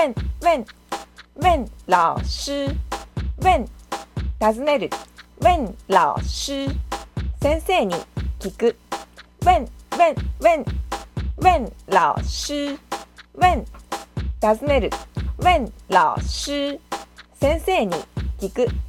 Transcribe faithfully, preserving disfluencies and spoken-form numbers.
问问问老师问尋ねる問老師先生に聞く問問問問老師問尋ねる問老師先生に聞く